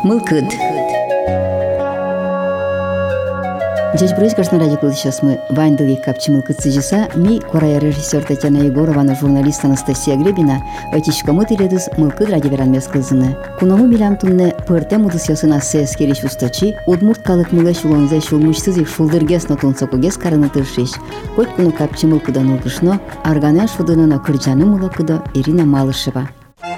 Мылкыд. Здесь происходит радио сейчас мы Вайндовик Капчимылкыд сижиса, ми корая режиссер Татьяна Егорова, журналист Анастасия Гребина, этичка мытиледус Мылкыд радиоверан мескылзыны. Кунаму милям тунне пырте мудысясына сескериш устачи, удмурткалык мылеш улонзе шулмушсыз их шулдыргес нотунсокугес карыны тыршиш. Хоть куну Капчимылкыдан улгышно, арганен шудынына кырджаны мылыкыда Ирина Малышева.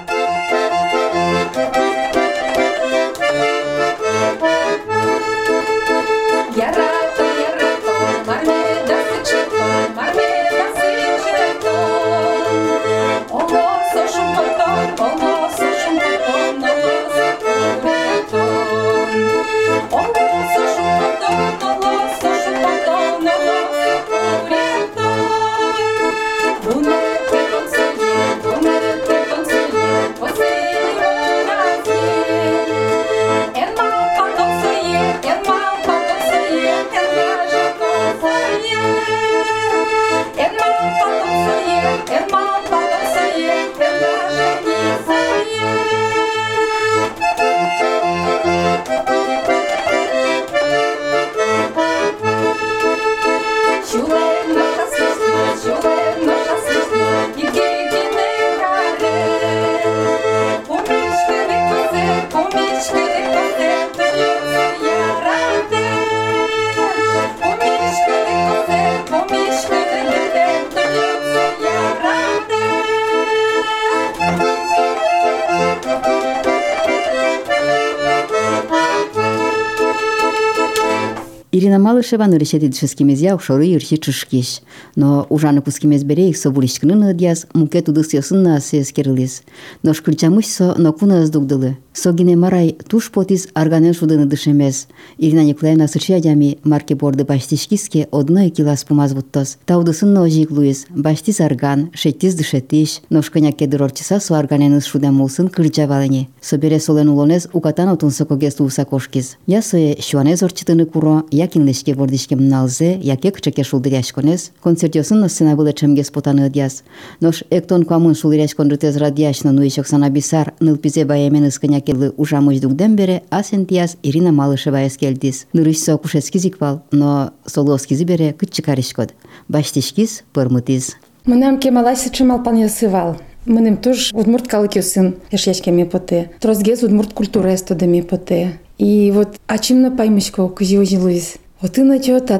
Ирина Малышева решит шескимезя ушоры юрчи чушкиш, но ужаны кускимез бере их собулишкны дьяс мукет удысясын на сескерлис. Но шкричамышсо но куна сдугдылы. Согине марай туш потис арганен шудыны дышемез. Ирина Николаевна сычадями марки борды баштишкиске одно килас помазвуттос. Таудысын ножик луис, баштис арган, шеттис дышетиш, но шканяке дырорчиса су арганен шудамулсын кырджавалыни. Собере солен улонез укатан отунсокогес усакошкис. Ясое шуанез орчитыны куро, якинлешке бордишке мналзе, яке кчеке шулдыряшконез, концертиосын сцена было чемге спотаны дьяс. Нош эктон куамын шулдыряшкон рытез радиашно нуишок санабисар, нылпизе баямен исканякелы ужамыш дугден бере, асен дьяс Ирина Малышева эскелдис. Нырышсо кушескизиквал, но солоскизи бере кытчикаришкод. Баштишкиз пырмытиз. Мынам кемалайсы чымал паньосывал. Мынем туж удмурт калыкёсын, яшешкеме поте. Трозгез удмурт культура эстодами поте. И вот ачимна паймышко кызиожилуиз. Вот ты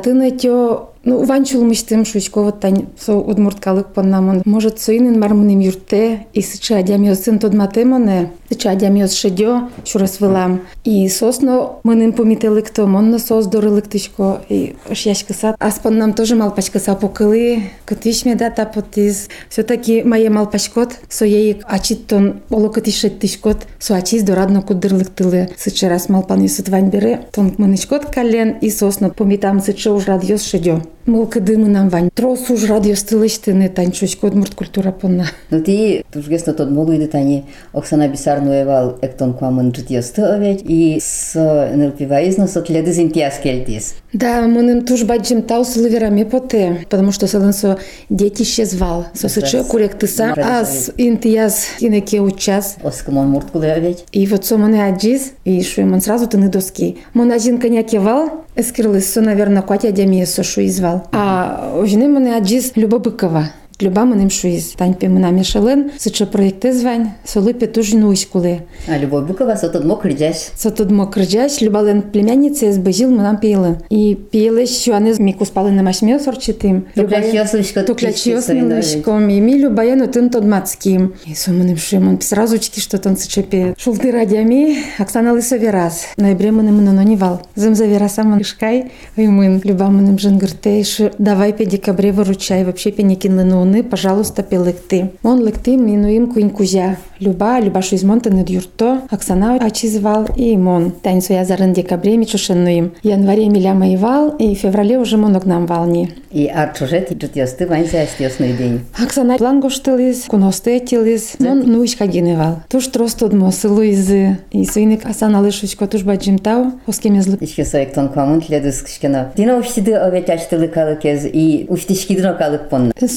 натё, ну ванчулмыштым шучко вот тань со удмурткалык поннамон. Может соинын мармыным юрте и сыча адямиосын тодматемоне, сыча адямиос шедё, шурас вылам. И сосно мынын помителыкто, монно сос дорылыктышко и шяшкысат. Аспоннам тоже малпачкыса покылы, кытышме да тапотиз. Все-таки мае малпачкот, со ей ачиттон олокытышеттышкот, со ачиз дорадно кудырлыктылы. Сыча раз малпан юсыт вань бере, тон мынычкот кален и сосно помитам сыча уж радиос шедё. Мылкыды мынам вань. Трос уж радиос тылыштыны танчучко удмурт культура понна. Ну ти тужгесно тот молуйды тани Оксана Бисарнуевал эктон куамын житьёсты овять и с нылпиваизно сотледы зинтиас кельтис. Да, мыным туж баджим тау сылыверами поте, потому что сылынсо детище звал. Сосычо куректыса, ас интияс инеке учас. Оскамон мурткулы овять. И вот со мыны аджиз, и шуемон сразу тыны доски. Мон один конякевал, эскирлысо, наверное, Катя Демиесо шуизвал. А ожины мыны аджиз Люба Быкова. Люба мыним шуиз. Таньпе мына мешален, сыча проекте звань, солыпе туж нуйскулы. А Любовь Быкова сотодмо крыджась. Сотодмо крыджась, Любален племянница сбежил мынам пейлы. И пейлы шуанез мику спалы на машмё сорчитым. Токлячёсны лышком. И ми Любаяну тын тодмацким. И со мыным шуемон сразучки, что тон сычепе. Шулты радями, Оксана Лысове раз. Ноябре мыным мынононивал. Зымзавера самон шкай. И мын Люба мыным жангырте. Давай пе декабре выручай. Вообще пе некинлыну. Пожалуйста, пелекты. Он лекты минуим куин кузя. Люба шуизмонта над юрто. Оксана ачизвал и мон. Таньцу я зарын декабре мичушенуим. Январе миля моевал и феврале уже монок нам вални. И арчужет житьёсты ваньзя астёсный день. Оксана плангоштылыз, куностетилыз. Он нуишка геневал. Туж тростодмо сылуизы. И суинек Оксана лышучко туж баджимтау. Оскемезлы. Ишке соектон куамын тледыз кышкена. Дина уштиды овет аштылы калыкез и уштишкидно калык понна. Со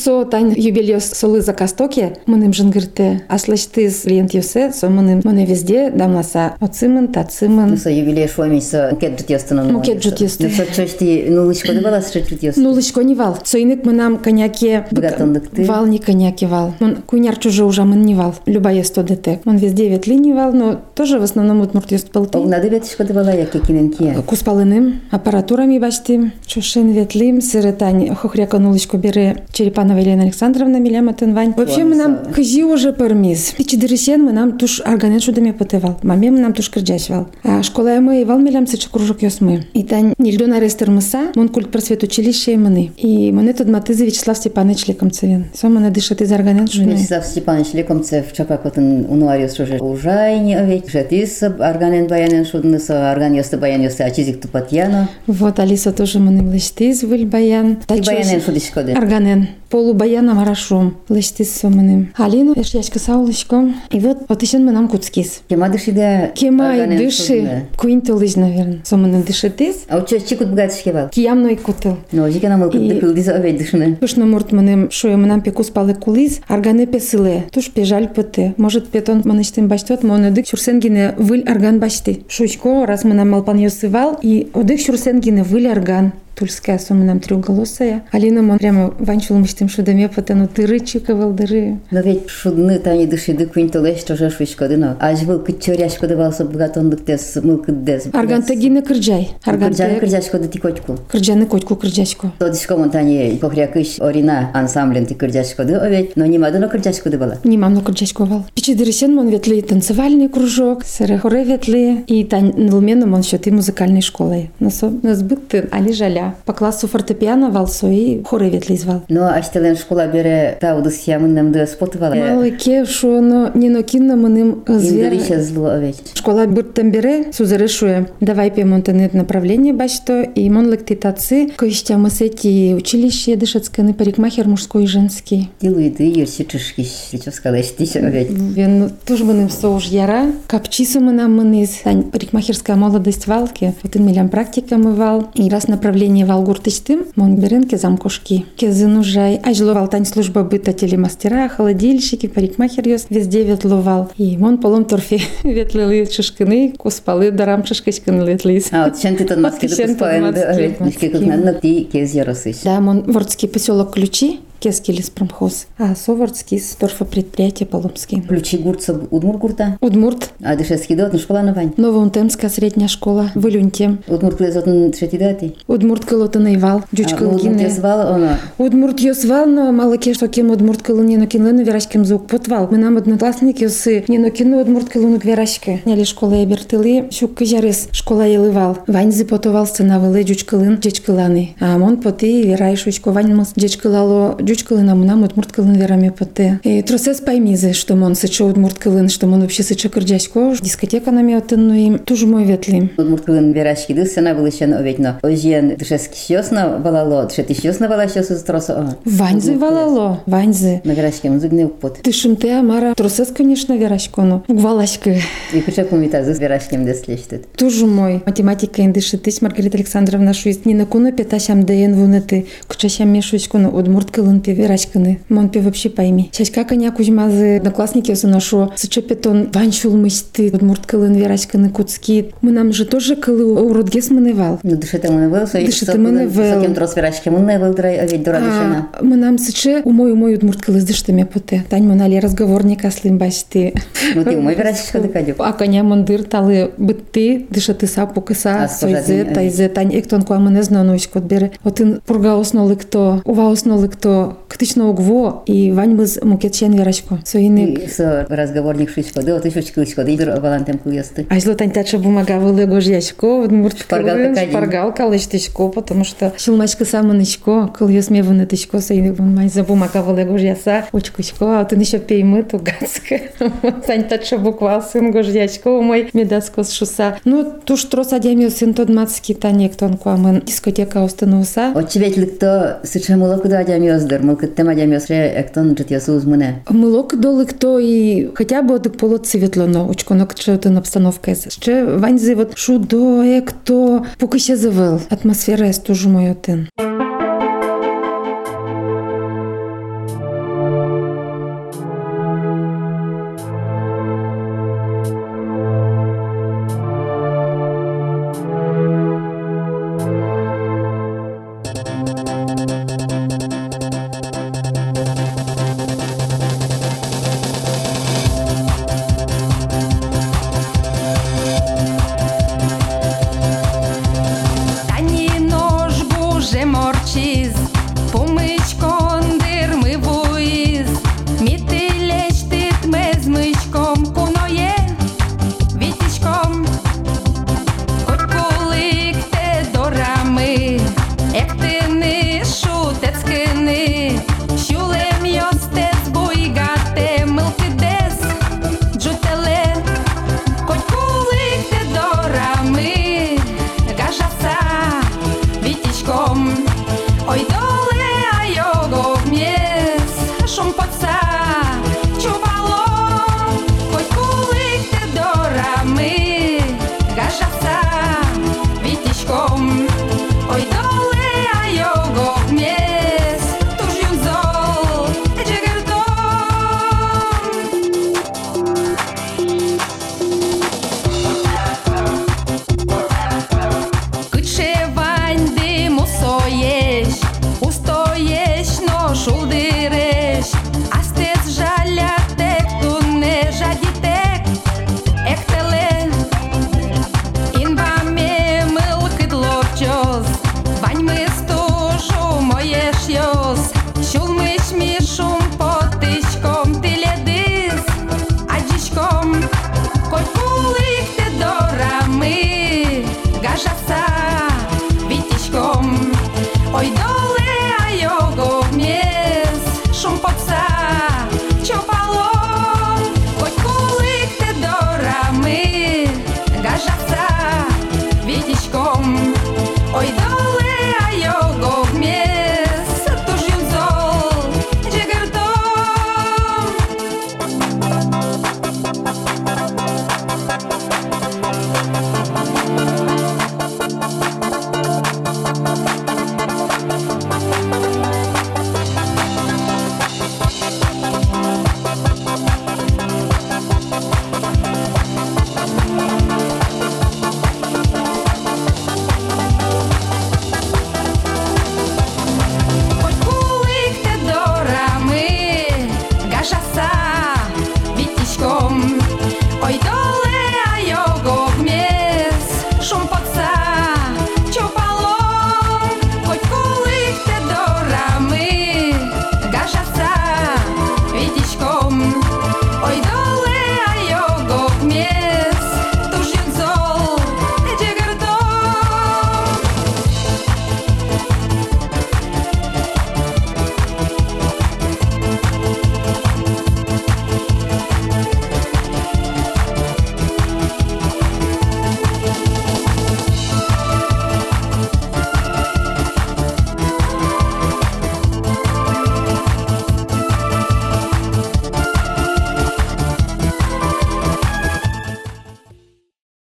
Вайн юбилеус солы за Костоке, мыным жынгырте, аслаштыз лент юсе, со мыны везде дамласа оцымын, тацымын. Ну, со юбилей шуамись, со мукет жутьёстын. Мукет жутьёсты. Ну, со чочти нулычко дыбала с жутьёсты. Нулычко не вал. Соинык мынам коняке... Богатондыкты. Вал не коняке вал. Мон куняр чуже уже мын не вал. Любая сто детек. Мон везде ветли не вал, но тоже в основном удмурт ёст пылты. Огнады ветишко дыбала, яке киненкия. Куспалыным, аппаратурами баштим, чушин ветлим, сырытань, хохряка нулычко бере Черепанова Елена Александровна Миляматын Вань. Вообще мы нам кызи уже пармиз. Пичи дырысен мы нам туш арганен шудами потывал. Маме мы нам туш кырджачвал. А школа мы вал милям сычы кружок ёсмы. И тань нильдон арестер мыса, мон культ просвет училище и мыны. И мыны тут матызы Вячеслав Степанович Лекомцевен. Со мыны дышат из арганен шудами. Вячеслав Степанович Лекомцев чакак отын унуариос шуже ужайни овет. Жетис арганен баянен шудны со арган ёсты баян ёсты ачизик тупатьяно. Вот Алиса тоже мыны влаштиз выль баян. И баянен шудишко де. Арганен. Полубаяна марашом. Влаштиз со мыным. Алина эшячка саулышко. И вот еще мы нам куцкис. Кема дышида. Кема и дыши. Куинтылыж, наверное. Со мыны дышитис. А учё чикут бгатышке вал. Киямной кутыл. Но жике нам дыкылдиз овет дышны. Туш на мурт мыным шуя мы нам пекус палы кулиз. Арганы песыле. Туш пежаль пыты. Может петон маныштым баштот, моны дык шурсенгине выль арган башты. Шучко, раз мы нам малпан ёсывал, и одык шурсенгине выль арган. Тульская сумма нам трёхголосая. Алина мон прямо ванчул мыштым шудаме потану дыры чиковал дыры. Но ведь шудны тани дышиды куинтолеш тоже шучко дыно. Аж был кычоряшко дывался богатондыктес мылкыддес. Аргантагине кырджай. Кырджаны кырджашко да тикочку. Кырджаны котку кырджашко. Тодышко монтани похрякыш орина ансамблен ти кырджашко ды овет. Но нема дыно кырджашко дыбала. Немам но кырджашко вал. Пичи дырысен мон ветли танцевальный кружок, сыры хоре ветли и тань нылмену мон счет и музыкальной школой. Нас бытты али жаля. По классу фортепиано валсо и хоре ветли звал. Но аштелен школа бере таудыс ямынным ды спотывала. Малыке шо но не нокинна мыным звер. Индалище зло овет. Школа бырттан бере сузары шуе. Давай пе монтанет направление бачто и мон лектитацы. Коища мы сети училище дышецканы парикмахер мужской и женский. Дилуиды ерси чышкиш. Сейчас сказать, тише овет. Вен тоже мыным соуж яра. Капчису мы нам мыныз. Тань парикмахерская молодость валки. Вот и милям практика мы вал. И раз направление вал гуртычтым, мон беренке замкошки. Кезын ужай. Ажловал тань служба быта телемастера, холодильщики, парикмахер ёс. Везде ветловал. И мон полом торфе ветлили шишкины, куспалы дарам шишкачканы ветлиз. А вот чем ты тот маски допускаем, да, овет. Нишки как надо, ты кез яросыш. Да, мон вордский поселок Ключи. Кескилис промхоз. А Совардский с торфопредприятие Поломский. Ключи гурца Удмурт гурта? Удмурт. А дышецкий дот, ну школа на Вань? Новоунтемская средняя школа. В Илюнте. Удмурт клезотн третий дати? Удмурт кылотын Ивал. Дючка Удмурт ёзвал, она? Удмурт ёзвал, но мало ке, что кем Удмурт кылын не нокинлыны верашкем звук потвал. Мы нам одноклассники сы не нокину Удмурт кылыну верашке. Няли школа ебертылы, щук кыжарыс школа елывал. Ваньзы потовался на вылы дючкылын дечкыланы. А мон поты верай шучко вань мыс дечкылало дючкылына мунам Удмурт кылын верами поты. И тросес поймизы, что мон сычо Удмурт кылын, что мон вообще сычо кырджачко. Дискотека нами отын, ну им тоже мой ветли. Удмурт кылын верашки дыс, она была еще овет, но ожен дышецкий щёсно валало, дышети щёсно вала щёсу с тросо. Ваньзы валало, ваньзы. На верашке музыкный упот. Ты шумте, Амара, тросес, конечно, верашко, но гвалашка. И куча кумита с верашкем деслещет. Тоже мой. Математика индышитысь, Маргарита Александровна шуист. Не на куна пятащам даен вунеты, кучащам мешуську, но Удмурт кылын пе верашканы. Мон пе вообще пойми. Чачка коня кузьмазы, одноклассники все нашо. Сычепетон ванчул мышты, Удмурт кылын верашканы куцки. Мы нам же тоже кылы уродгес маневал. Ну дышите маневал, дышите маневал. Сокем трос верашки маневал, драй овет дора дышена. Мы нам сыче умой Удмурт кылы дыштыме поте. Тань монали разговорника слым бачты. Ну ты умой верашки дыкадюк. А коня мандыр талы бытты дышаты сапу кыса. Сойзе, тайзе, тань эктон куа мене знанусь кот бере. Отын пурга осноли кто, ува осноли кто, ктично угво и вань біз мукетчен верашко. Соиник. Со разговорник шучко, да, вот еще чкылочко, да и валантем куесты. А зло тань тача бумага вылего жьячко, Удмурт шпаргалка шпаргалка лыштычко, потому что шилмачка саманычко, кыл ёсме вынытычко, соиник вон за бумага вылего жьяса, учкучко, а ты еще пеймы тугацка. Тань тача буквал сын гожьячко, мой медацко с шуса. Ну, туш трос адямил сын тот мацки тане, кто он куамен дискотека остануса. От чебет ликто сычамуло куда адямиоздер, мылкыттем адямиосре эктон житьясу узмуне. Мылок доли кто и хотя бы от полот светлоно, учконок чотын обстановка. Ще ваньзы вот шудо, экто, поки ще завел. Атмосфера есть тоже мой отын.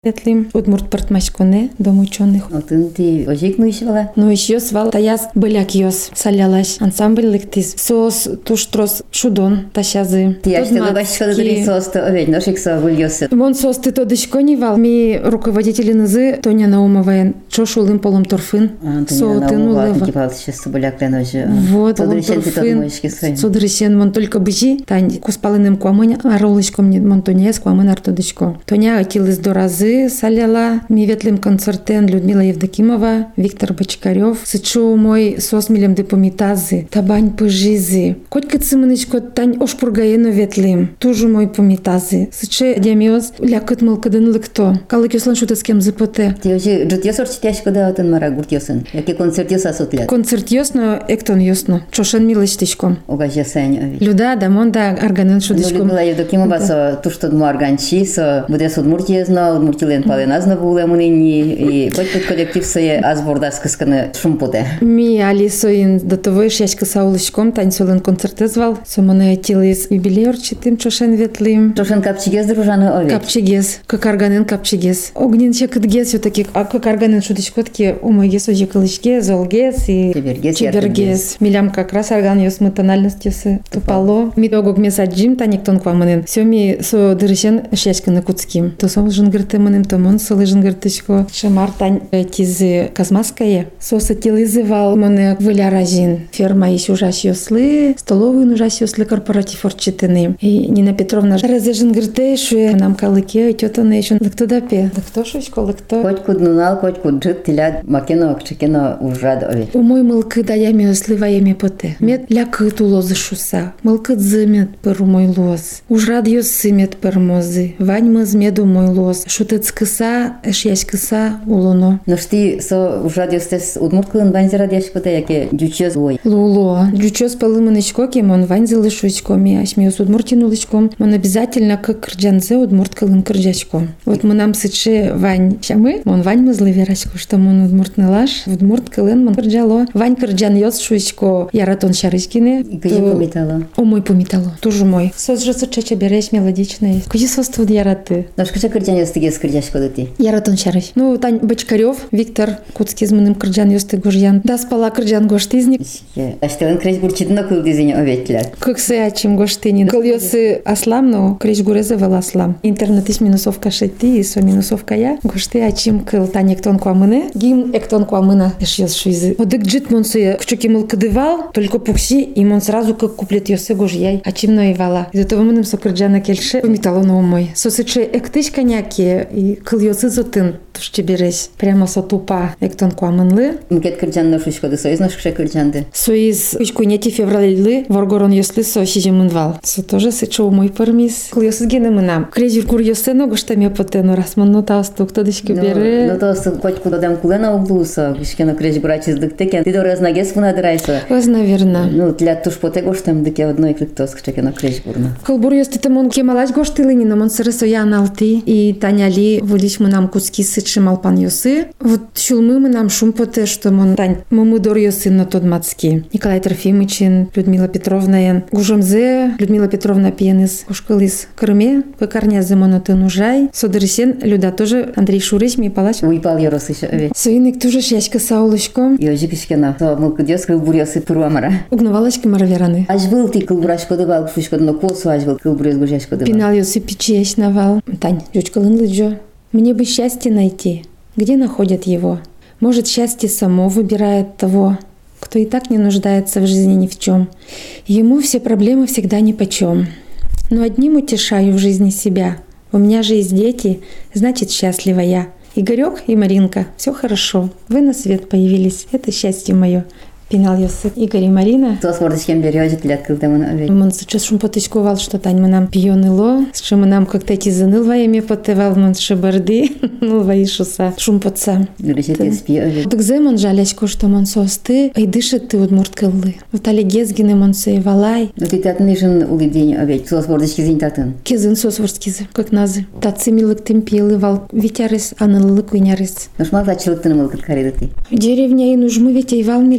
Ветлим удмурт партмашконе, дом ученых. Отын ти ожик нуишвала? Но еще свал таяс быляк йос салялаш. Ансамбль лектис. Сос туштрос шудон тащазы. Ти аж ты лыбашка дали состо оведь, ношик со выльёсы. Вон сос ты то дышконивал. Ми руководители нызы Тоня Наумовая. Чошулым полом торфын. Тоня Наумова. Типа сейчас быляк леножи. Вот, полом торфын. Содресен мон только быжи. Тань куспалыным куамынь аролышком мон Тоня с куамын артодышко. Тоня акилыз до разы саляла. Ми ветлим концертен Людмила Евдокимова, Виктор Бочкарев. Сычу мой сос милем депомитазы. Табань пыжизы. Коть кыцымынышко тань ошпургаено ветлим. Тужу мой помитазы. Сыче демиоз лякыт мылкыдын лыкто. Калык ёслан шутас кем зыпоте. Ти ожи жут ёсор читяшко да отын мара гурт ёсын. Яке концерт ёса сотлят. Концерт ёсно, эктон ёсно. Чошен милыштышком. Огаж ёсень оведь. Люда дамон да арганын шудышком. Людмила Евдокимова со туштод муарганчи, со будес удмуртиезно, удмуртилен паленазно буле мунини и коть коллектив сое азбордас кысканы шумпоте. Ми алисоин до того шяшка саулышком танцолын концерты звал. Соманы айтилыз юбилеор читым чошен ветлим. Чошен капчигез дружаны оведь. Капчигез, как арганын капчигез. Огнен чекытгез все-таки, а как арганын шудышкотки умойгез ожи кылышгез, олгез и чебергез. Милям как раз арган ёсмы тональность ёсы тупало. Ми тогок месаджим таниктон квамынын. Все ми со дырышен шяшканы куцким. То сом жынгырты мынын, то мон солы жынгыртышко. Шамар тань тизы казмаскае. Соса тилызывал моны выляражин. Ферма ищ ужаш ёслы, столовый ужаш ёслы корпоратив орчитыны. И Нина Петровна разе жынгырты шуе нам калыке тётаны ещё. Лыкто дапе. Лыкто шучко, лыкто. Коть куднунал, коть куджит, тилят макено, кчекено ужад оведь. Умой мылкы даями ёслы ваями поте. Мет лякыт улозы шуса. Мылкыт зымет пыр умой лоз. Ужрад ёсы мет пыр мозы. Вань мыз меду мой лоз. Шутец кыса, эшьясь кыса улоно. Но шти со ужад ёстес удмурткылын ванзера дяшкоте, яке дючёз ой. Луло. Дючёз палымынычко кемон ванзелы шучко. Ми ашмиос удмуртинулычком. Мон обязательно как кырджанзе удмурткылын кырджачко. Вот мы нам сыче вань щамы, мон вань мызлы верачко, что мон удмуртнылаш, удмурткылын мон кырджало. Вань кырджан ёс шучко яратон шарышкине. И кыжи помитало. Омой помитало. Тоже мой. Сос же сычече береш мелодичный. Кыжи сос тут яраты. Ношкача кырджан ёстыгез кырджачко дати. Яратон шарыш. Ну, Тань Бочкарев, Виктор Куцкий змыным кырджан ёсты гожьян. Да спала кырджан гоштизник. Аштелын креш бурчитно кыл дизине оветлят. Кыксы ачим гоштинин. Кыл ёсы аслам, но креш гурезе вел аслам. Интернет иш минусовка шетти, и со минусовка я. Гошты ачим кыл тань эктон куамыны. Гим эктон куамына эш ёс шуйзы. Одык джит монсы кчуки мыл кыдывал, только пукси, и мон сразу как куплет ёсы гожьяй. Ачим ноевала. Из этого мыным со кырджана кельше помитало на умой. Сосыче эктыш коняки, и кыл ёсы зотын. Тушче береш. Прямо со тупа эктон куамынлы. Мкет кырджан ношучко да соиз ношкше кырджанды. Соиз кучкуйнети февралйлы воргорон ёслы со шижемынвал. Со тоже сычо умой пармис. Кыл ёсыз генымынам. Крежир кур ёсыно гоштаме потено расманно таустук тодышки бере. Ну то коть кудадам кулена углуса. Кишкено креш гурачиз дыктекен. Ты дораз нагес вунадырайсо. Оз, наверно. Ну для туш поте гоштам дыке одной кликтос кчекено креш гурна. Кылбур ёсты мон кемалаш гоштылыни, но мон сырысо яналты. И таняли вылиш мы нам куски сычымал пан ёсы. Вот шулмы мы нам шум поте, что мон тань мамудор ёсы на тот мацки. Николай Трофимычин, Людмила Петровна ян. Гужомзе, Людмила Петровна пьенис. Ушкалис Крыме, кокарнязы монотын ужай. Содырысен Люда тоже Андрей Шурыч ми палач. Уйпал ёрос ещё оведь. Соиник тоже шяшка саулышком. И ожи кишкено. То мылкыдёс кылбур ёсы пыруамара. Угнавалачки маравераны. Аж был ты кылбурашко дывал, шучко но косу аж был кылбурёс гужашко дывал. Пинал ёсы печещ навал. Тань, жучкалын лыджо. Мне бы счастье найти. Где находят его? Может, счастье само выбирает того, кто и так не нуждается в жизни ни в чем. Ему все проблемы всегда нипочем. Но одним утешаю в жизни себя. У меня же есть дети, значит, счастлива я. Игорек и Маринка, все хорошо. Вы на свет появились, это счастье мое. Пинал ёсы Игорь и Марина. То с мордочком берёжит лет кылдамын оведь. Мон сейчас шум потычковал, что тань мы нам пьёныло, что мы нам как-то эти заныл воями потывал, мон шибарды, ну воишуса, шум потца. Грешит и спи оведь. Так зе мон жалячко, что мон состы, ай дышит ты удмурткаллы. Вот али гезгины мон сеевалай. Ну ты татнышын улидень оведь, то с мордочки зинь татын. Кезын сосворскизы, как назы. Татцы милык темпелы вал, витярыс, анылылы куйнярыс. Ну шмал тачылык тыны мылкыт кариды ты. Деревня и нужмы ветей вал милям. И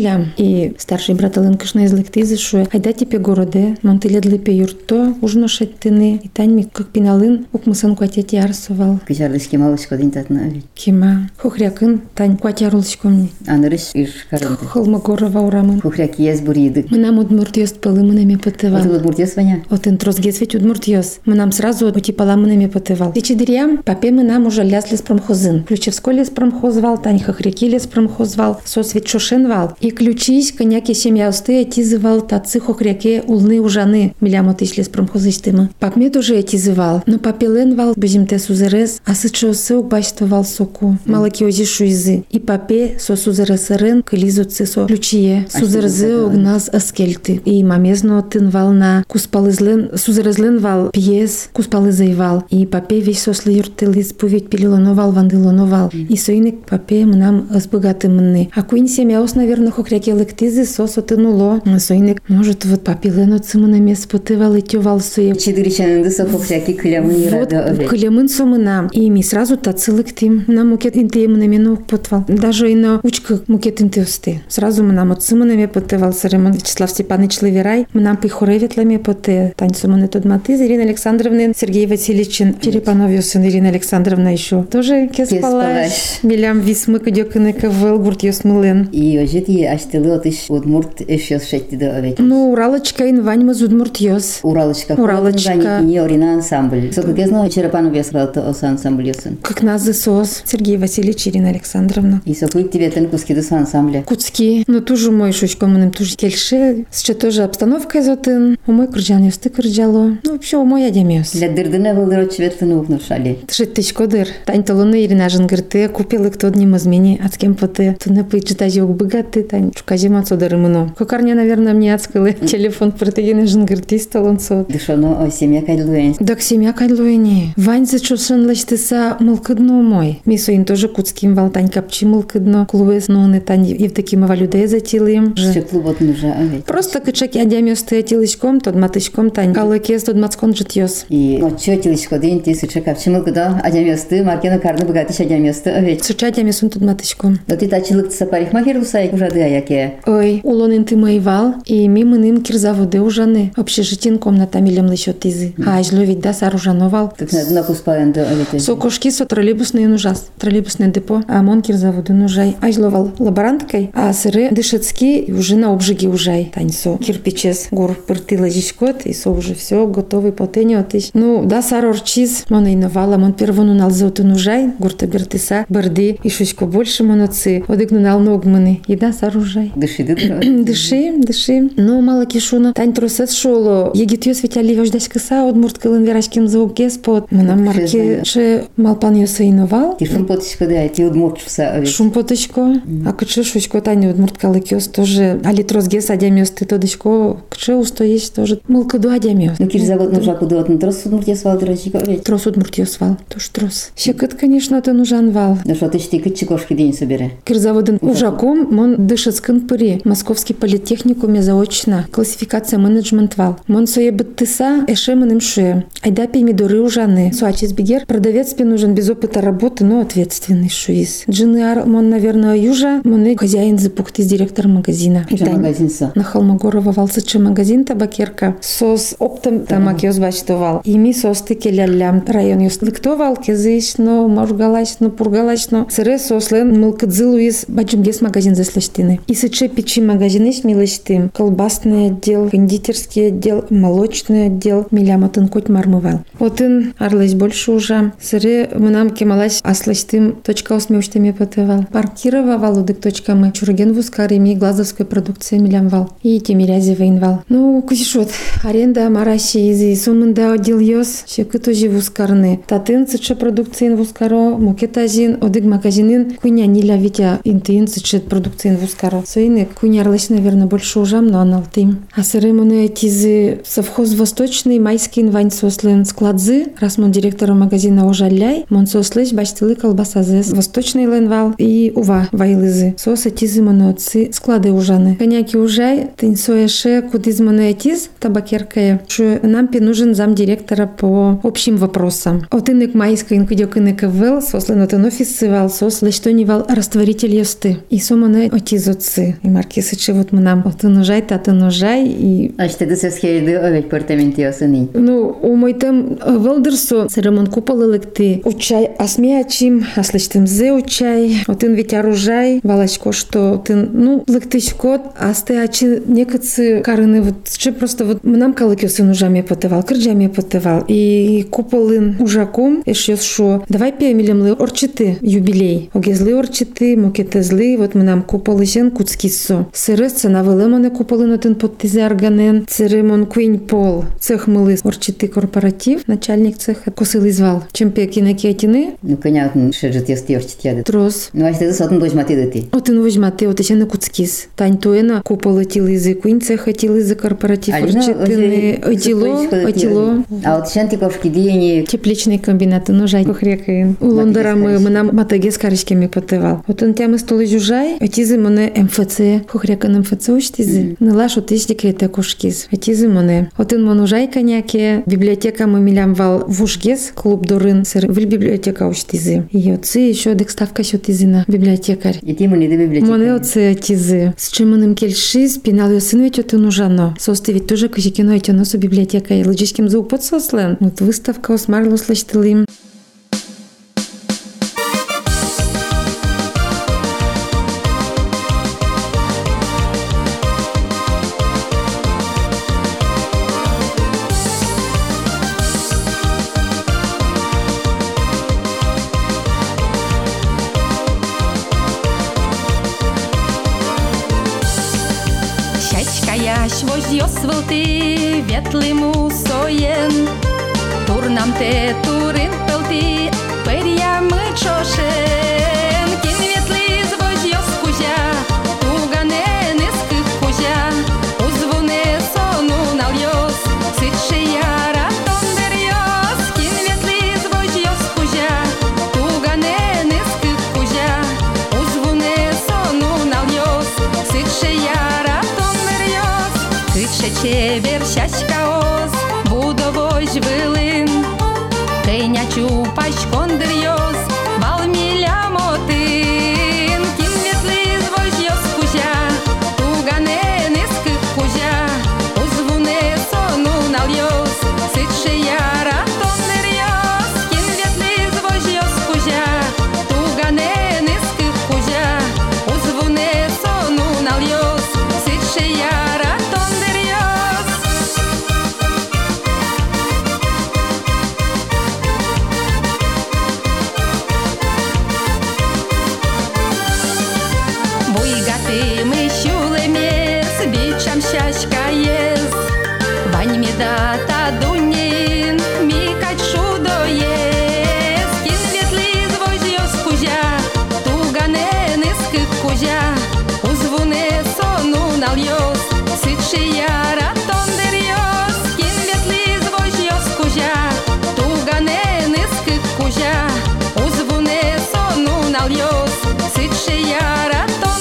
И старший брат Аленкашна из лектизы, что айда тебе городе, монтылед лепе юрто, ужно шеттыны, и тань ми как пиналын, укмысан куатети арсовал. Кижарлыш кемалышко дин татна ведь. Кема, хохрякын, тань куатярулышкомни. Анырыш иш карынты. Холмогорова урамын. Хохряк ез буриды. Мынам удмуртиёс пылы мынами потывал. Вот удмуртиёс ваня? Вот интрозгез ведь удмуртиёс. Мынам сразу отипала мынами потывал. Тичидырям, папе мынам уже ляз лес промхозын. Ключевской лес промхозвал, тань хохряки лес промхозвал, сос ведь шошенвал. И ключись, коняки семья усты отизывал, тацы хохряке улны ужаны. Милям отыш лес промхозыштымы. Пап мне тоже отизывал. Но папеленвал, безимте сузерез, а сычосы упаштовал соку. Малаки озишу изы. И папе со сузересерен, кылизоцы со ключие. Сузерзе огназ аскельты. И мамезно тынвал на куспалызлен, сузерезленвал пьес, куспалызайвал. И папе весь сослы юртылыз поведь пилилоновал, вандылоновал. И соиник папе мнам сбогаты мны. А куин семьяос, наверное, хохряки лектизы сос отынуло. Соиник, может, вот папилено цымынами спотывал и тёвал суе. Чидыричанынды со хохряки кылямын ирада овет. Кылямын сомынам. И ми сразу тацылыктим. На мукет инте мнамену потвал. Даже и на учка мукет инте усты. Сразу мнам от цымынами потывал Саремон Вячеслав Степанович Лаверай. Мнам пихореветлами поты. Тань сомыны тодматыз. Ирина Александровна, Сергей Васильевич Черепановью сын Ирина Александровна еще. Тоже кеспалаш. Милям висмы кудёкыны кавыл гуртьёс мылен. И ожит и аштылы отыш удмурт эшёс шеттиды овет. Ну, Уралочка инвань маз удмуртьёс. Уралочка. Уралочка. Не орина ансамбль. Сокогезно Черепанов ясралты оса ансамбль ёсын. Как назы сос. Сергей Васильевич Ирина Александровна. И сокуик тебе тен куски дос ансамбля. Куцки. Ну, тоже мой шучко мыным тоже кельше. Сейчас тоже обстановка изотын. У мой кырджан ёсты кырджало. Ну, вообще, у мой адемёс. Для дырдыны вылдырот чвертыны укнушали. Тышеттечко дыр. Тань толуны Ирина жынгырты. Купил кто одним измени. От кем поты. Туны пыйчитази ок богаты. Тань чукази мацодары мыно. Кокарня, наверное, мне отскылы. Телефон протегины жынгырты столонцо. Дышоно о семья кайдлуэн. Так семья кайдлуэни. Вань зачушен лачтыса мылкыдно мой. Мисоин тоже куцким вал. Тань капчи мылкыдно. Клуэс ноны. Тань евдокима валюдея затилым. Что клубот нужа овет. Просто кычаки адямёс ты атилычком, тот матычком тань. Калыкес тот мацкон житьёс. И чё тиличко день ты сыча капчимыл куда адямёсты, маркена карны богатыш адямёсты овет. Сыча адямёсын тот матычком. Да ты тачылыкса парикмахер усай ужады аяке. Ой, улонын ты моевал, и мимыным кирзаводы ужаны. Общежитин комната милем лыщот изы. А ажло ведь да сар ужановал. Так на куспаленды овет. Сокошки со троллейбусный ужас. Троллейбусный депо. А мон кирзаводы нужай. Ажловал лаборанткой, а сыры дышецки уже на обжиге ужай. Таньсо кирпичес гор пыртыла жишкот, и со уже все готовый потеньо тыщ. Ну, да сар орчиз, мон иновала, мон первону налзоту нужай, гурта бертыса, барды, и шучко больше моноцы, одыгну нал ногманы, и да сар ужай. Дыши, Дыши. Ну, мало кишуна. Тань тросет шоло. Егит ёс ведь али вождась кыса, одмурт кылын верашкин заобгес под. Мынам марке ше малпан ёса иновал. Ти шумпоточко да, ти удмуртчуса овет. Шумпоточко. А кычы шучко тань удмурт калыкёс тоже. Али тросгес адямёс ты тодочко. Кычы устоишь тоже. Мылкыду адямёс. Ну, кирзавод нужа куда отны трос удмуртья свал дырочика овет. Трос удмурт ёс вал. Тоже трос. Щекыт, конечно, ты нужан вал. Ну что, ты ж ты кычикошки день собере. Кирзаводын ужаком, мон дышецкын пыри. Московский политехникуме заочно. Классификация менеджмент вал. Мон сое быттыса, эше мыным шуе. Айда помидоры ужаны. Суачис бигер. Продавец пе нужен без опыта работы, но ответственный шуиз. Джинар, мон, наверное, южа. Мон хозяин запухты с директором магазина. Что магазин со? На Холмогорова вал сычы магазин табакерка. Сос оптом тамак ёс бачтовал. И ми сос тыке лялям. Район ёс лыктовал, кезыш, но моргалаш, но пургалаш, но сыре сослен мылкыдзылуиз бачумгес магазин заслыштыны. И сычы печи магазины смелыштым. Колбасный отдел, кондитерский отдел, молочный отдел. Миляматын коть мармывал. Отын арлась больше уже. Сыре мынам кемалась аслыштым точка осмеуштыме потывал. Паркирова валудык точкамы. Чурген вускары ми глазовской продукции милямвал. И темирязи воинвал. Ну, кусишот. Аренда мараси изи. Сумында отдел ёс. Щекы тоже вускарны. Татын сычы продукциин вускаро. Мукетазин. Одык магазинин. Куня ниля витя интыин сычы продукциин вускаро. Соины куня арлась, наверное, больше ужам, но аналтым. А сыры муны тизы совхоз Восточный, майский инвань сослен складзы. Раз мон директора магазина ужаляй. Мон сослыш бачтылы колбасазы. Восточный ленвал и ува вайлызы. Соса тизы муны отцы склады ужаны. Коняки ужай. Тынь сояше кудыз муны тиз табакеркая. Что нам нужен зам директора по общим вопросам. Отынек майский инкудёк инек вел. Сослен отын офис сывал. Сослы что не вал растворитель ёсты. И соманы отиз отцы. цы. И маркисы че вот мы нам отынужай, и... А что ты сосхериды овечь портаментиосыни? Ну, у мой там валдерсо церемон купол электы. Учай асмеячим, асличтым зе учай. Отын ведь оружай, валачко, что ты, ну, лектычкот, асты ачи некоцы карыны вот, че просто вот нам калыкиосы нужами потывал, кырджами потывал. И куполын ужаком, эшёс шо, давай пеемелемлы орчиты юбилей. Огезлы орчиты, мокетезлы, вот мы нам куполы жен куцкиссо. Сырыс ценавылы моне куполын отын подтизе арганен. Церемон куинь пол. Цех мылы орчиты корпоратив, начальник цеха косылы звал. Чемпе кинекетины. Ну, понятно, что же ты стёрчит яды. Трос. Ну, а что ты сотын дожматы дыты? Отын возьматы, вот еще на куцкис. Тань туена куполы тилызы, куинь цеха тилызы корпоратив. Орчитыны, отило. А вот шантиковшки дени... Тепличный комбинат, ну, жай кохрекаин. У Лондора мы нам матаге с каричками потывал. Вот он тямы столы жужай, отизы моне МФЦ, кохрекан МФЦ учтизы. Нылаш отиш декрета кошкиз. Отизы моне. Вот он монужай коняке, библиотека мы милям вал вушгес, клуб Дорын, сыр, в библиотека учтизы. И отцы еще декставка счетизы на библиотекарь. И ты моне до библиотека. Моне отцы отизы. С чем он им кельши, спинал ее сын ведь отын ужано. Состы ведь тоже козикино эти носу библиотека и логическим звук подсослен. Вот выставка осмарло слыштылым. Яш возьосвал ты ветлыму соен, турнам те турин пелти, перьямы чошен, кин ветлиз возьос кузя, туганен искых кузя, узвуне сону нальёс, сытше яра тондерьёс, кин ветлиз возьос кузя, туганен искых кузя, узвуне сону нальёс, сытше яра Чевер щаськаос, будовой жвилин, Тейнячу пачкондерьос, балміля мотин, Кін ветлиз возьос кузя, туганен иских кузя, узвуне сону нальёс, ситше яра тондерьос, Кін ветлиз возьос кузя, туганен иских кузя, узвуне сону нальёс, ситше яра щаськаєс, вань медата дунін, мікать шудоєс, кін ветлиз возьос кузя, туганен иских кузя, узвуне сону нальёс, ситше яра тондерьёс, кін ветлиз возьос кузя, туганен иских кузя, узвуне сону нальёс, ситше яра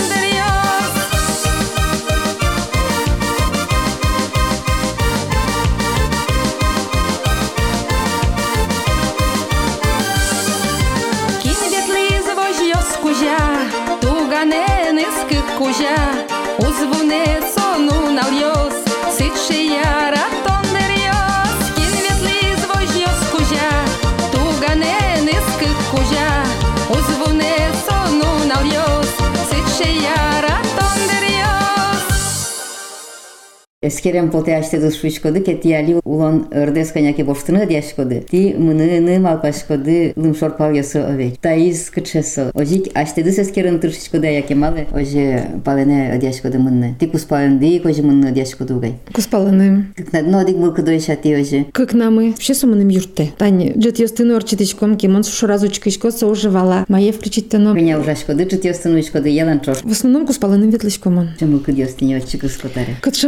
туганен иских кузя, узвуне сону нальёс, ситше яра тондерьёс, кін ветлиз возьос кузя, туганен иских кузя, узвуне сону нальёс, ситше яра тондерьёс. Эскерем поте аштедус шучкоды, кетияли улон ырдес коняке боштыны дяшкоды. Ти мыныны малпашкоды лымшорпал ясы овеч. Таиз кычесо. Ожик аштедус эскерен тыршичкоды аякемалы, оже палене дяшкоды мынны. Ти куспаленды, кожи мынны дяшкоды угай. Куспалены. Как на дно дик был кудой шати оже. Как намы. Вообще суманым юрте. Тань, джет ёстыны орчитычком, кемон сушу разучкачко соуживала. Мае включить-то Меня ужашкоды, джет ёстыны учкоды елан чош. В основном куспаленым ветлычкомон. Чемыл куд ёстыни очи кускотаре. Кат шемыл куд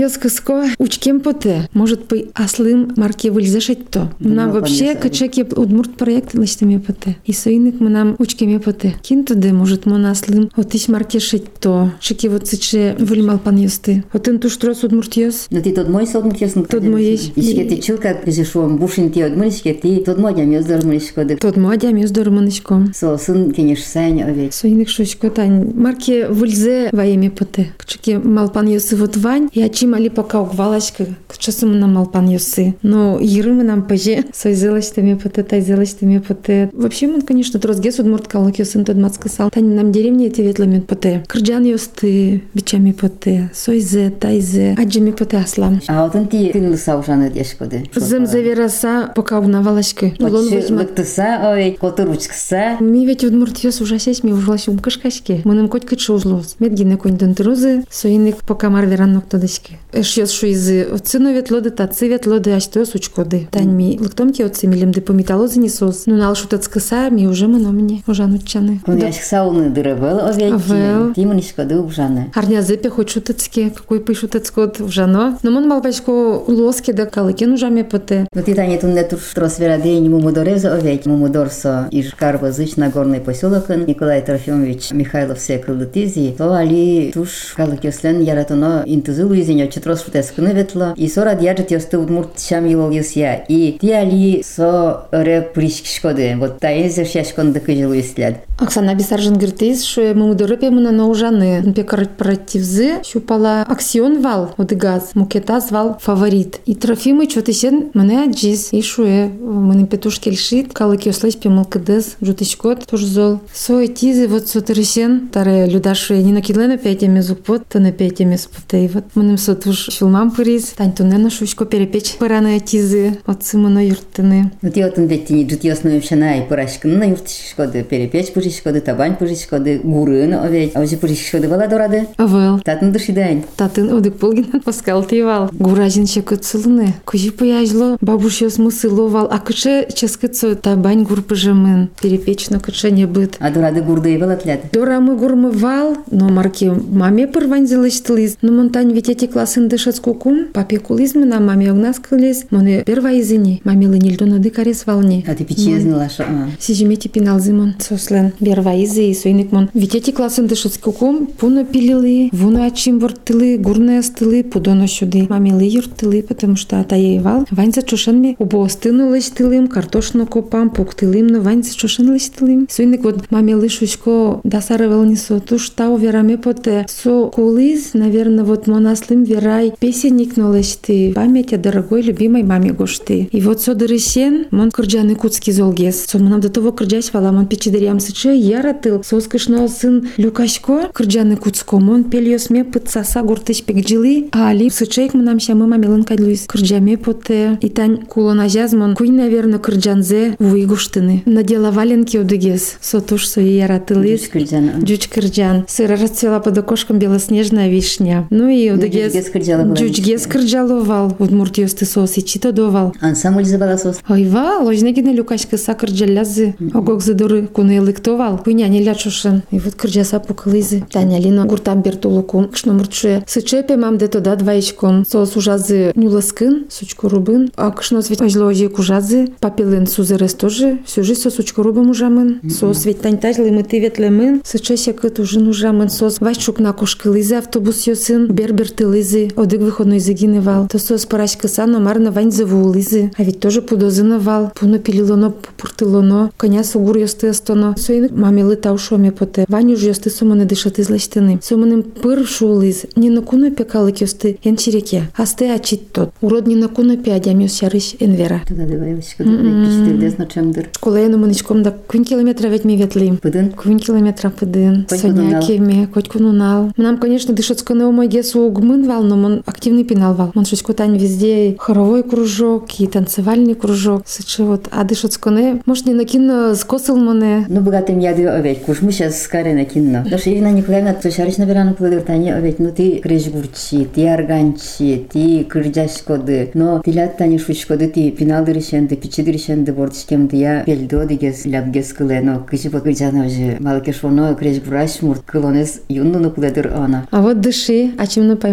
Йоскоско учкем поте. Может быть, аслым марке выльзашить то. Нам вообще качеки удмурт проект листами поте. И соиник мы нам учкем поте. Кинтуде может мы наслым отиш марке шить то. Шики вот сыче выльмал пан ёсты. Отын туш трос удмурт ёс. Но ты тот мой содмурт ёс. Тот мой есть. Ишке ты чилка, кызышом бушин ти одмуришке, ты тот модям ёс дормуришко. Тот модям ёс дормуришко. Со сын кенеш сайн овет. Соиник шучко тань. Марке выльзе воеме поте. Качеки мал пан ёсы вот вань. Я чимали пока угвалашка. К часу мы нам мал пан ёсы. Но иры мы нам поже. Сой зелаштами поте, тай зелаштами поте. Вообще мы, конечно, трозгес удмурт калык ёсын тот мацка сал. Тань нам деревни эти ветлами поте. Кырджан ёсты бичами поте. Сойзе, тайзе, аджами поте аслам. А вот он ти тынлы саушаны дешкоды. Зем завераса пока угнавалашка. Лыктыса, ой, котыручкса. Ми ведь удмурт ёс ужасясь, ми ужлась умкашкашки. Мыным коть кычы ужлос. Медгине коньден трозы, соиник пока марверан ноктодышки. Эш ёс шу изы отцыно ветлоды, тацы ветлоды, ашто сучкоды. Тань ми лыктомки отцы милем по металлозы не сос. Ну нал шутацкаса, ми уже мыно мне ужанучаны. Он яшк сауны дырывал, овет. Ти мынишкоды ужаны. Арнязепе хоть шутацке, какой пышутацкот ужано. Но мон малбачко лоски да калыкен ужаме поте. Но ты тане тунне тур тросверадень мумудореза овет. Мумудорсо иж Карвазыч Нагорный поселок Николай Трофимович Михайлов секрылытизи. То али туш калыкеслен яратоно интузы луизеньо четрос шутескыны ветло. И сорад яджет ёсты удмурт шам елол ёсья. И ти али со ре пришкишкоды. Вот таезе шяшкон дыкыжы луислят. Оксана Бисаржин гыртыз, что мумудорепе мына на ужаны. Пе корпоративзы щупала аксион вал одыгаз. Мукета звал фаворит. И Трофимыч что-то сен мына аджиз. И шуе мына петушки льшит. Калык ёслась пемалкадыз. Жутышкот тоже зол. Сой тизы вот сотырысен. Таре людашуе не накидлена пятями зукпот, то на пятями спотей. Вот мыным сотуш шулмам пырис. Тань то не на шучко перепечь пыраны тизы. Отцы мына юртыны. Ну ти отын ветти жут ёсную общана и пырашкыны на юртышкоды перепечь пырышкоды, табань пырышкоды, гурын овет. А уже пырышкоды вала дорады? Авел. Татын дышидань. Татын одык полгин паскал тивал. Гуражин чекыцылыны. Кужи пояжло. Бабуш ёс мусыловал. А кыче ческыцо табань гур пыжымын. Перепечно кыче не быт. А дорады гурды велатлят. Дора мы гурмывал, но марки маме пырвань залыштылыз. Но монтань ведь эти классын дышат скукум. Папе кулизмы на маме огнаскылез. Моны перва изыни. Маме лынильдон одык арес волне. А ты печи знала, что... Сижимете пинал зимон. Сослен. Берва изы и суйник мон. Ведь эти классын дышат скукум. Пуно пилилы. Вуно ачим вортылы. Гурные стылы. Пудоно сюды. Маме лы юртылы. Потому что атаеевал. Вань за чушенми. Убо стыну лыштылым. Картошно копам. Пуктылым. Но вань за чушен лыштылым. Суйник вот маме лышучко дасарывал несо. Туш тау вераме поте. Со кулиз, наверное, вот монаслым верай. Песенник нолышты. Память о дорогой любимой маме гошты. И вот со дырыщен. Мон кырджаны куцкий золгес. Со монам до того кырджась вала. Мон печидырям сыче яратыл. Соскышно сын Люкашко. Кырджаны куцко. Мон пельёсме пытсаса гуртыш пекджилы. А али сычейк монам щамы мамелын кайдлуис. Кырджаме поте. И тань кулона жазмон. Куй, наверное, кырджанзе вуйгуштыны. Надела валенки одыгес. Со туш со яратылыс. Джуч кырджан. Сыра расцвела под окошком белоснежная вишня. Ну и одыгес. Джучгес кырджаловал. Удмурт ёсты сос и чито довал. Ансамбль забала сос. Ойва, ложнегина люкашка са кырджалязы. Огок задуры куны элыктовал. Куйня не лячушен. И вот кырджаса пукалызы. Таня лино гуртам бертулукум. Кшно мурчуе. Сычепе мам де тода двоечком. Сос ужазы нюласкын. Сучку рубын. А кшно свет ожложи кужазы. Папелын сузерес тоже. Всю жизнь сос сучку рубым ужамын. Сос ведь тань тажлы мы ты ветлемын. Сычесе кыт ужин ужамын. Сос вайчук на кошкылызы. Автобус ёсын. Бербертылызы. Одык выходной загинывал. То сос парашка сано марна вань завулызы. А ведь тоже пудозыновал. Пуно пилилоно, пупуртылоно. Коня сугур ёсты остоно. Соин мамилы таушоме поте. Вань уж ёсты соманы дышат из лаштыны. Соманым пыр шулыз. Не на куно пекалык ёсты эн череке. Асты ачит тот. Урод не на куно пядям ёсярыш энвера. Туда договорилась, что ты на чем дыр. Школа я маничком да квин километра ведь ми ветли. Пыдын? Квин километра пыдын. Сонякими, коть кунунал. Нам, конечно, дышатское на умой гесу угмын вал, но он активный пинал вал. Он шучко тань везде хоровой кружок и танцевальный кружок. Сыче вот. А дышатское, может, не накину скосил моне. Ну, богатым я даю овет. Куш мы сейчас скорее накину. Потому что Ирина Николаевна, то шариш наверное, кладыртане овет. Ну, ты крежгурчи, ты арганчи, ты крыждашкоды. Но ты лят тани шучкоды, ты пинал дырышенды, пичи дырышенды, бортичкемды я пельдо дигес ляпгес кыле. Но кыжи покырджана уже малкешоно крежгураш мурт кылонес юнну кладыр она. А вот дыши, а чем на поймышко.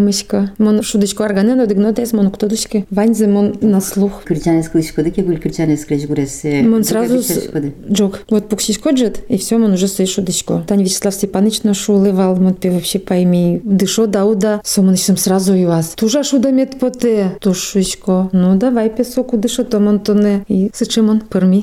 Мон шудочку арганен одигнотес, мон ктодушки. Ваньзе мон на слух. Кричане скличкоды, ке был кричане скличкуресе. Мон сразу джок. Вот пуксичко джет, и все, мон уже стоит шудочку. Тань Вячеслав Степанович нашу уливал, мон пе вообще пойми. Дышо дауда, сомонищем сразу и вас. Тужа шуда мет поте, тушечко. Ну давай песоку дышо, то мон тоне. И сычимон, перми.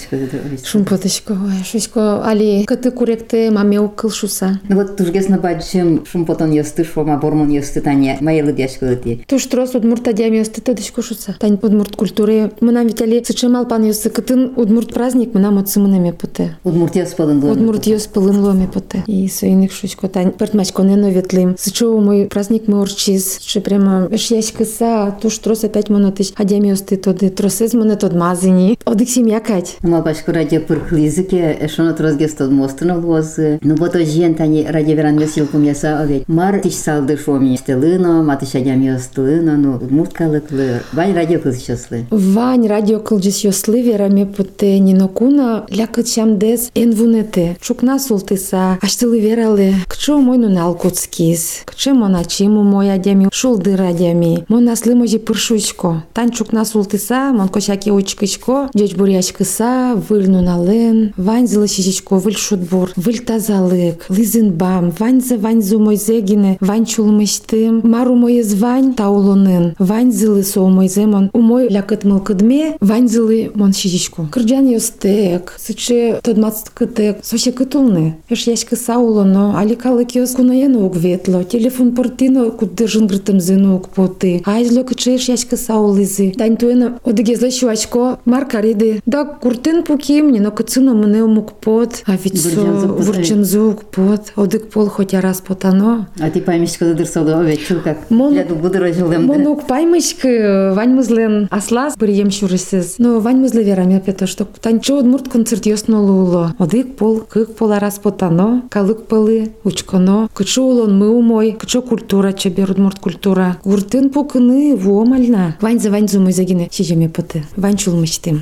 Шумпоточко, ой, шусько. Али, каты куректе, маме укыл шуса. Ну вот тужгес на баджим шумпотон ёсты, шома бормон ёсты, тане, майелы дяшкоды. Туш трос удмурт адями ёсты, тадышко шуса. Тань удмурт культуры. Мынам ведь али сычимал пан ёсты, кытын удмурт праздник, мынам отсымынами поте. Удмурт ёспылын ломе. Удмурт ёспылын ломе поте. И соиных шусько, тань пертмачко не новетлим. Сычо мой праздник мы урчиз, что прямо яшкаса, туш трос опять монотыш адями ёсты, тоды тросез монет одмазыни. Одык семья кать. Ну башку радио пырхлизыке, эшоно тросгес тод мостынол лозы. Ну вот ожен тани радио веран месилкум яса овет. Мар тиш салды шоми стелыно, матыш адями ёстылыно, ну удмурт калыклы. Вань радио кылчослы. Вань радио кылчыс ёслы вераме поте нинокуна лякыт шамдес энвунете. Чукна султыса, аштылы вералы. Кчо мой ну налкутскис. Кче моначиму мой адями шулды радиами. Мон аслы можи пыршучко. Тань чукна султыса, мон кошаки очкычко. Джеч бурячкыса, выль нунален. Вань зылышичко, выль шутбур. Выль тазалык. Лызын бам. Ваньзу мой зегине. Вань чулмыштым. Мару мой звань таулонын. Вань зылы со мой земон. У мой лякыт мылкыдме. Вань зылы мон шичичко. Кырджан ёстек. Сыче тодмац кытек. Соще кытулны. Эш яшкыса улоно. Аликалык ёс кунаену угветло. Телефон портино куддержын грытым зыну укпоты. Айзло кыче эш яшкыса улызы. Дань туэна одыгезлы шуачко. Маркариды. Да куртын пуким, но кыцыно мне умукпот. А ведь со вурчензу укпот. Одык пол хотя раз потано. А ты поймешь, когда дырсода овет, чул как. Я буду рожулем. Монук паймышкы, вань мызлен аслас прием шурысыз. Но вань мызлы верам я пето, что танчо удмурт концерт ёснуло. Одык пол, кык пола раз потано. Калык полы, учконо. Кычо улон мы умой, кычо культура, чебер удмурт культура. Куртын пукыны вомальна. Вань-за мой загине, чижеме поты. Вань чулмыштым.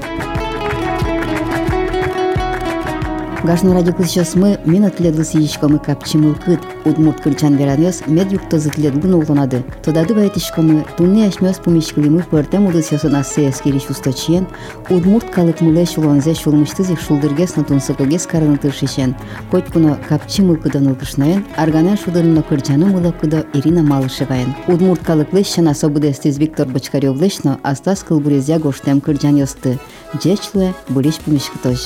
Гашны радио кылчос мы минут ледлы сиичкомы капчимыл кыт. Удмурт кылчан веранёс мед юктозыт ледбын ултонады. Тодады байтишкомы тунне ашмёс пумишкылимы пыртем удысёсын ассеяскери чусточиен. Удмурт калык мыле шулонзе шулмыштызик шулдыргес на тунсыкогес карыны тыршишен. Хоть куно капчимыл кыдан ылкышнаен, арганен шудырыно кырчаны мыло кыдо Ирина Малышеваен. Удмурт калык лещен особыдестиз Виктор Бочкарёв лещно астас кылбурезя гоштем кырчан ёсты. Джечле буриш пумишкытош.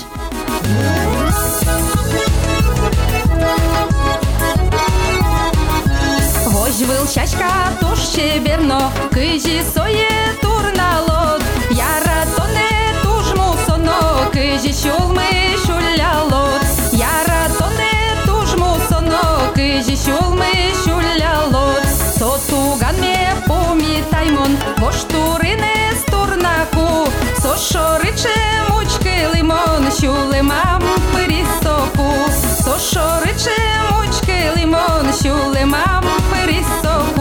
Выл чачка туш чеберно, кыжи сое турналот. Яра тоне туш мусоно, кыжи чулмы шулялот. Яра тоне туш мусоно, кыжи чулмы шулялот. Сотуган ме пумитаймон, воштурине стурнаку. Сошорыче мучки лимон, шулемам пырисоку. Сошорыче мучки лимон, шулемам пырисоку.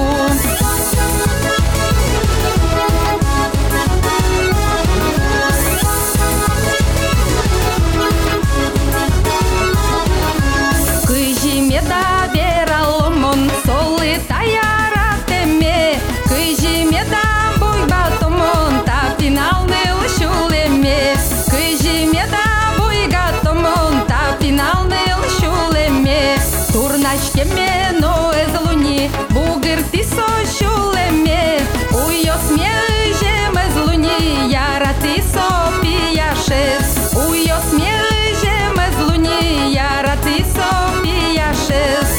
Кыжи меда бераломон, солы таяра теме. Кыжи меда буйгатомон, та финалны лшулеме. Кыжи меда буйгатомон, та финалны лшулеме. Турначкеме но эзлуни, бугыр тисо шулеме. Уйос межем эзлуни, яра тисо пияшес. Уйос межем эзлуни, яра тисо пияшес.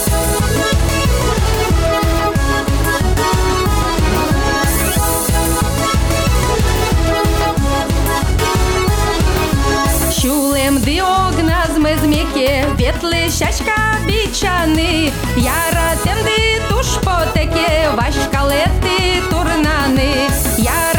Шулем диогназ мезмеке, ветлы щачка бичаны. Яра темды туш потеке, вашкалеты турнаны. Яра